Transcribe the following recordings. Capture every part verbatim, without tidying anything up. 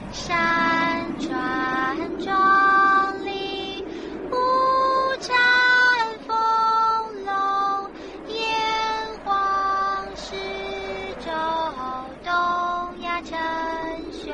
山川壮丽，五产丰隆，炎黄始周，东亚称雄。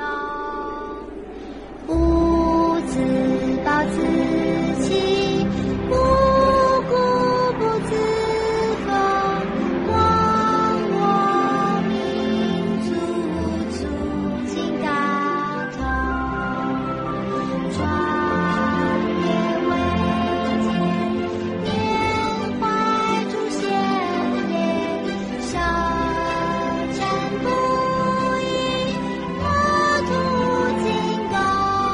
吾自暴自弃，无故不自封。光我民族，促进大同。创业维艰，缅怀祖先言，小战不已，国土精高。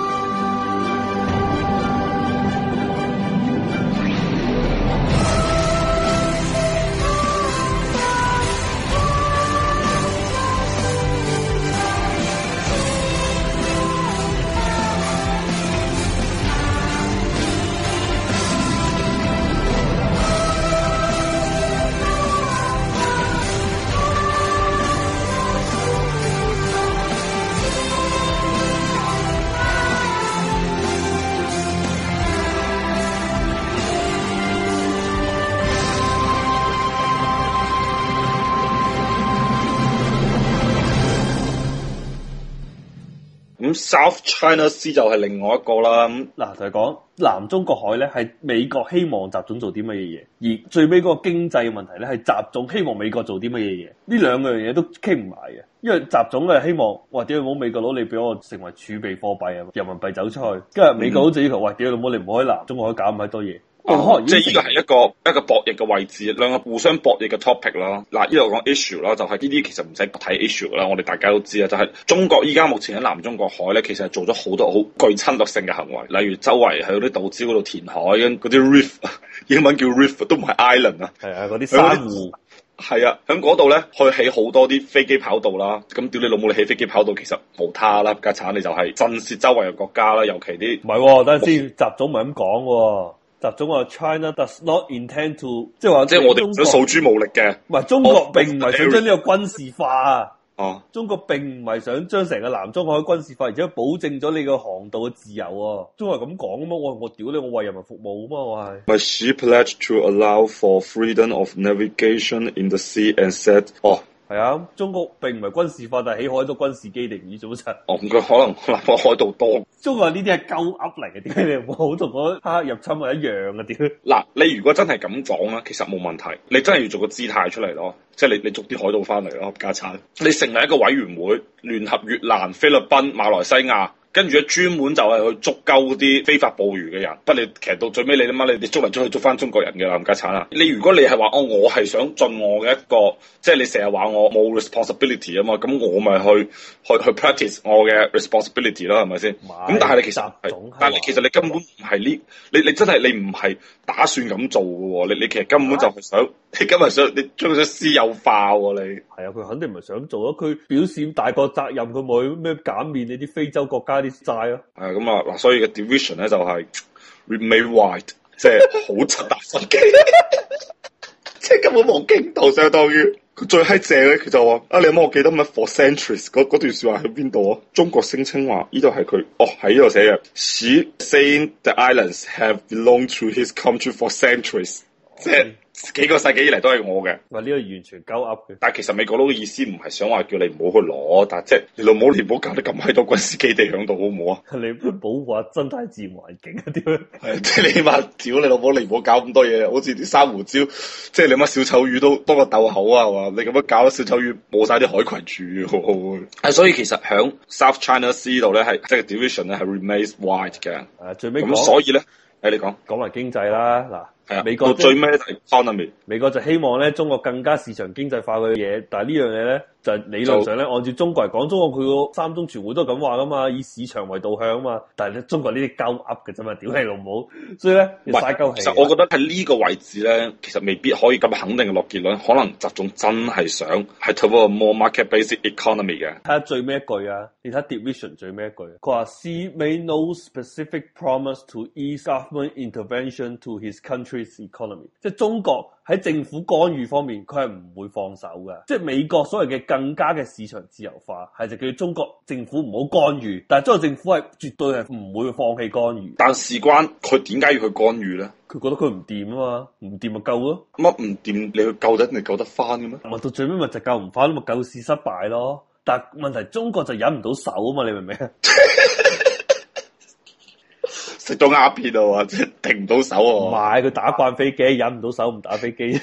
咁 South China Sea 就係另外一個啦。咁嗱，就係講南中國海咧，係美國希望習總做啲乜嘢嘢，而最尾嗰個經濟嘅問題咧，係習總希望美國做啲乜嘢嘢。呢兩樣嘢都傾唔埋嘅，因為習總係希望，哇屌你冇美國佬，你俾我成為儲備貨幣啊，人民幣走出去，跟住美國佬就要求，哇屌你老母，你唔好喺南中國海搞咁多嘢。 哦，即係呢個係一個一個博弈嘅位置，兩個互相博弈嘅 topic 啦。嗱，呢度講 issue 啦，就係呢啲其實唔使睇 issue 噶啦，我哋大家都知啊，就係、是、中國依家目前喺南中國海咧，其實係做咗好多好具侵略性嘅行為，例如周圍喺嗰啲島礁嗰度填海，跟嗰啲 reef， 英文叫 reef 都唔係 island 啊， 係啊，嗰啲珊瑚。 係啊，喺嗰度咧，去起好多啲飛機跑道啦。咁屌你老母，你起飛機跑道其實無他啦，家產你就係震懾周圍嘅國家啦，尤其啲唔係，等陣先，習總唔係咁講喎。習總話 China does not intend to， 即係話即係我哋唔想訴諸武力嘅。 唔係，中國並唔係想將呢個軍事化啊。 哦， 中國並唔係想將成個南中國海軍事化，而且保證咗你個航道嘅自由啊。中國係咁講啊嘛，我我屌你，我為人民服務啊嘛，我係。 My ship pledged to allow for freedom of navigation in the sea and said， 哦。 係啊，中國並唔係軍事化，但係起海多軍事基地唔知做乜柒。 哦，咁佢可能南海海盜多。 中國呢啲係鳩噏嚟嘅，點解你唔好同嗰黑入侵係一樣嘅？點？ 嗱，你如果真係咁講咧，其實冇問題。你真係要做個姿態出嚟咯，即係你你捉啲海盜翻嚟咯，家產。你成立一個委員會，聯合越南、菲律賓、馬來西亞。跟住咧，專門就係去捉鳩啲非法捕魚嘅人。不過你其實到最尾，你諗下，你你捉嚟捉去捉翻中國人嘅啦，冚家鏟啊！你如果你係話哦，我係想盡我嘅一個，即係你成日話我冇 responsibility 啊嘛，咁我咪去去去 practice 我嘅 responsibility 啦，係咪先？咁但係你其實係，但係其實你根本唔係呢，你你真係你唔係打算咁做嘅喎，你你其實根本就係想，啊、你今日想你將佢私有化喎，你係啊，佢肯定唔係想做啊，佢表示大個責任，佢冇咩減免你啲非洲國家啲債咯。 係咁啊，嗱，所以嘅 division 咧就係 remain white， 即係好柒大心機，即係根本冇傾到，相當於佢最閪正咧，佢就話啊，你有冇我記得乜 for centuries 嗰嗰段說話喺邊度啊？中國聲稱話呢度係佢，哦喺呢度寫嘅 ，She saying the islands have belonged to his country for centuries，即係。幾個世紀以嚟都係我嘅， 話呢個完全鳩噏嘅。 但係其實美國佬嘅意思唔係想話叫你唔好去攞，但係即係你老母你唔好搞得咁閪多軍事基地響度好唔好啊？ 你保護下生態自然環境啊？點樣？ 係即係你起碼屌你老母，你唔好搞咁多嘢，好似啲珊瑚礁，即係你乜小丑魚都多個竇口啊，係嘛？你咁樣搞，小丑魚冇晒啲海群住，係所以其實響 South China Sea 度咧係即係 division 咧係 remains wide 嘅。 誒，最尾咁所以咧，誒你講講埋經濟啦，嗱。 係啊， 美國到最尾就係 economy。 美國就希望咧，中國更加市場經濟化嘅嘢，但係呢樣嘢咧，就係、理論上咧，按照中國嚟講，中國佢個三中全會都係咁話噶嘛，以市場為導向啊嘛。但係咧，中國呢啲鳩噏嘅啫嘛，屌你老母！所以咧，唔係鳩氣。 其實我覺得喺呢個位置咧，其實未必可以咁肯定嘅落結論。可能習總真係想係 toward more market-based economy 嘅。 睇下最尾一句啊，你睇 division 最尾一句，佢話 Xi made no specific promise to ease government intervention to his country。 country's economy， 即係中國喺政府干預方面，佢係唔會放手嘅。即係美國所謂嘅更加嘅市場自由化，係就叫中國政府唔好干預，但係中國政府係絕對係唔會放棄干預。 但事關佢點解要去干預咧？ 佢覺得佢唔掂啊嘛，唔掂咪救咯。 乜唔掂你去救得你救得翻嘅咩？ 咪到最尾咪就救唔翻，咪救市失敗咯。但係問題中國就忍唔到手啊嘛，你明唔明啊？ 食咗鴉片啊嘛，即係停唔到手啊！ 唔係佢打慣飛機，忍唔到手唔打飛機，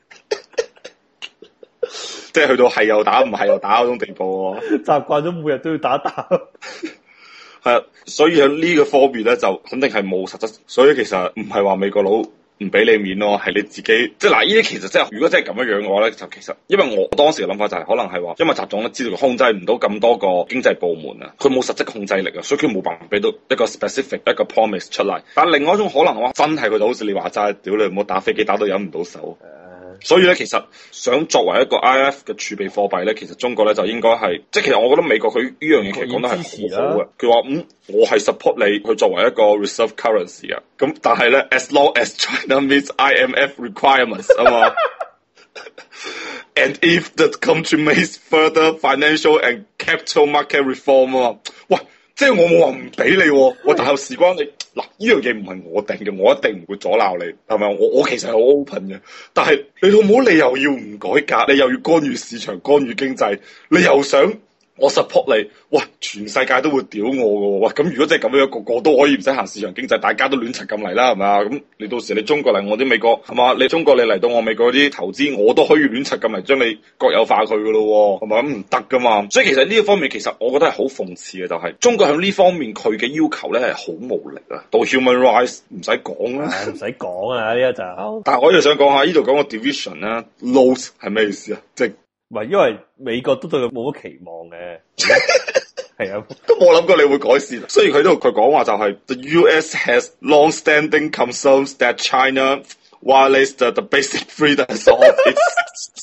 即係去到係又打唔係又打嗰種地步啊！ 習慣咗每日都要打打。 係啊，所以喺呢個方面咧，就肯定係冇實質。所以其實唔係話美國佬唔俾你面咯，係你自己。即係嗱，呢啲其實即係如果真係咁樣樣嘅話咧，就其實因為我當時嘅諗法就係、是、可能係話，因為習總咧知道佢控制唔到咁多個經濟部門啊，佢冇實質控制力啊，所以佢冇辦法俾到一個 specific 一個 promise 出嚟。但係另外一種可能嘅話，真係佢就好似你話齋，屌你唔好打飛機打到忍唔到手。所以咧，其實想作為一個 I M F 嘅儲備貨幣咧，其實中國咧就應該係，即係其實我覺得美國佢呢樣嘢其實講得係好好嘅。佢話嗯，我係 support 你去作為一個 reserve currency 啊。咁但係咧 ，as long as China meets I M F requirements 啊嘛，and if the country makes further financial and capital market reform 啊嘛，喂。即係我冇話唔俾你，我但係事關你嗱，呢樣嘢唔係我定嘅，我一定唔會阻撓你，係咪？我我其實係好 open 嘅，但係你老母你又要唔改革，你又要干預市場、干預經濟，你又想我 support 你，喂，全世界都會屌我嘅，喂，咁如果真係咁樣，個個都可以唔使行市場經濟，大家都亂柒咁嚟啦，係咪啊？咁你到時你中國嚟我啲美國，係嘛？你中國你嚟到我美國啲投資，我都可以亂柒咁嚟將你國有化佢嘅咯，係咪咁唔得噶嘛？所以其實呢一方面，其實我覺得係好諷刺嘅，就係、是、中國喺呢方面佢嘅要求咧係好無力啊。到 human rights 唔使講啦， 唔使講啊呢一就。 但係我又想講下呢度講個 division 咧 ，loss 係咩意思啊？即係。 唔係，因為美國都對佢冇乜期望嘅，係啊， 都冇諗過你會改善。雖然佢都佢講話就係、是、The U S has long-standing concerns that China violates the, the basic freedoms of its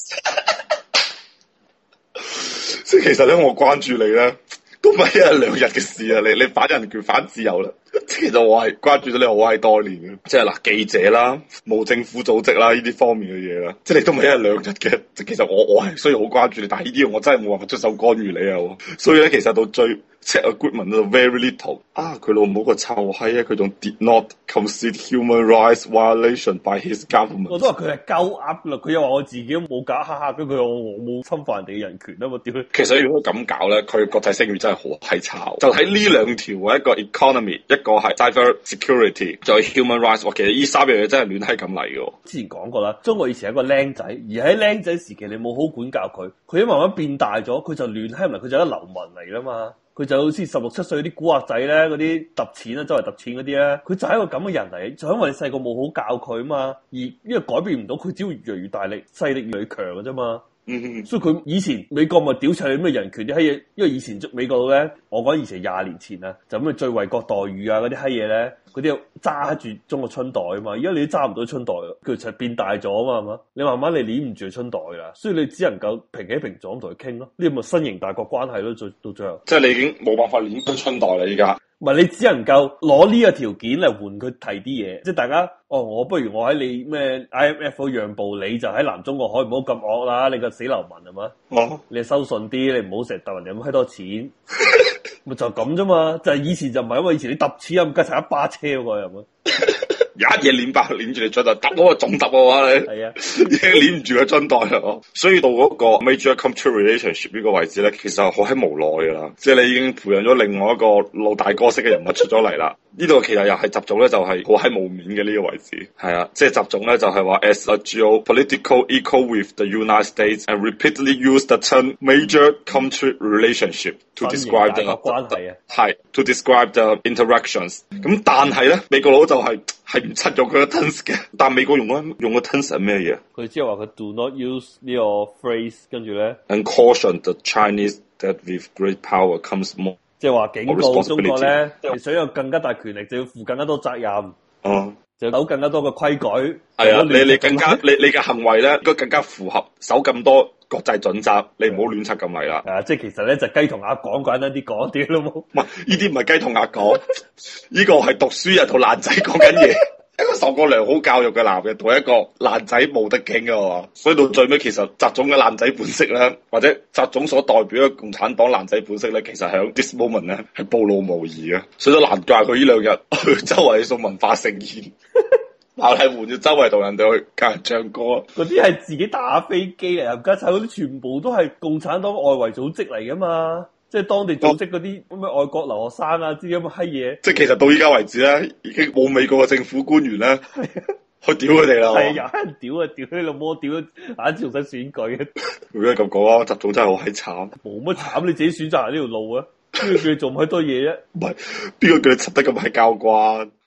即係其實咧，我關注你咧，都唔係一日兩日嘅事啊！你你反人權、反自由啦。其實我係關注咗你好閪多年嘅，即係嗱記者啦、冇政府組織啦呢啲方面嘅嘢啦，即係你都唔係一日兩日嘅。其實我我係需要好關注你，但係呢啲我真係冇辦法出手干預你啊！所以咧，其實到最 check agreement 到 very little 啊，佢老母個臭閪啊，佢仲 did not concede human rights violation by his government。我都話佢係鳩噏啦，佢又話我自己都冇搞，哈哈，跟佢話我冇侵犯人哋嘅人權啊嘛，屌！其實如果咁搞咧，佢國際聲譽真係好閪差。就喺呢兩條一個 economy 一。一個係 cyber security，就係 human rights。其實呢三樣嘢真係亂閪咁嚟嘅。之前講過啦，中國以前係一個僆仔，而喺僆仔時期你冇好管教佢，佢一慢慢變大咗，佢就亂閪埋，佢就一流民嚟啦嘛。佢就好似十六七歲啲古惑仔咧，嗰啲揼錢啦，周圍揼錢嗰啲咧，佢就係一個咁嘅人嚟，就因為你細個冇好教佢啊嘛，而呢個改變唔到，佢只會越嚟越大力，勢力越嚟越強嘅啫嘛。嗯，所以佢以前美國咪屌柒你咩人權啲閪嘢，因為以前美國咧，我講以前廿年前啊，就咁嘅最惠國待遇啊嗰啲閪嘢咧，嗰啲揸住中國春袋啊嘛，而家你都揸唔到春袋，佢就變大咗啊嘛，係嘛？你慢慢你捏唔住春袋啦，所以你只能夠平起平坐咁同佢傾咯，呢個咪新型大國關係咯，最到最後，即係你已經冇辦法捏到春袋啦，依家。唔係你只能夠攞呢個條件嚟換佢提啲嘢，即係大家哦，我不如我喺你咩 I M F 嗰讓步，你就喺南中國海唔好咁惡啦，你個死流民係嘛？哦，你收順啲，你唔好成日揼人哋咁閪多錢，咪就咁啫嘛。就係、是、以前就唔係，因為以前你揼錢啊，唔加齊一巴車喎，係咪？有一嘢捻爆捻住你樽袋，揼嗰個總揼嘅話你係啊，已經捻唔住個樽袋啦。所以到嗰個 major country relationship 呢個位置咧，其實好閪無奈噶啦，即係你已經培養咗另外一個老大哥式嘅人物出咗嚟啦。呢度其實又係習總咧，就係好閪冇面嘅呢個位置。係啊，即係習總咧就係話 as a geopolitical equal with the United States and repeatedly use the term major country relationship to describe the 關係啊，係 to describe the interactions。咁但係咧，美國佬就係係唔出用佢個 terms 嘅，但美國用嗰用個 terms 係咩嘢？佢即係話佢 do not use 呢個 phrase， 跟住咧 and caution the Chinese that with great power comes more。即係話警告中國咧，你想有更加大權力，就要負更加多責任。哦，就守更加多嘅規矩。係啊，你你更加你你嘅行為咧，應該更加符合守咁多國際準則。你唔好亂插咁嚟啦。啊，即係其實咧就雞同鴨講，簡單啲講啲咯。唔係，呢啲唔係雞同鴨講，呢個係讀書人同爛仔講緊嘢。 一個受過良好教育嘅男人同一個爛仔冇得傾啊嘛，所以到最尾其實習總嘅爛仔本色咧，或者習總所代表嘅共產黨爛仔本色咧，其實喺 this moment 咧係暴露無遺嘅，所以都難怪佢呢兩日去周圍送文化盛宴，馬麗換咗周圍同人哋去教人唱歌， 嗰啲係自己打飛機嚟，冚家鏟嗰啲全部都係共產黨外圍組織嚟噶嘛。即係當地組織嗰啲咩外國留學生啊，之咁嘅閪嘢。即係其實到依家為止咧，已經冇美國嘅政府官員咧去屌佢哋啦。 係有人屌啊，屌你老母，屌眼仲使選舉嘅。 如果咁講啊，習總真係好閪慘。 冇乜慘，你自己選擇行呢條路啊，邊個叫你做咁閪多嘢啫？ 唔係，邊個叫你執得咁閪交關？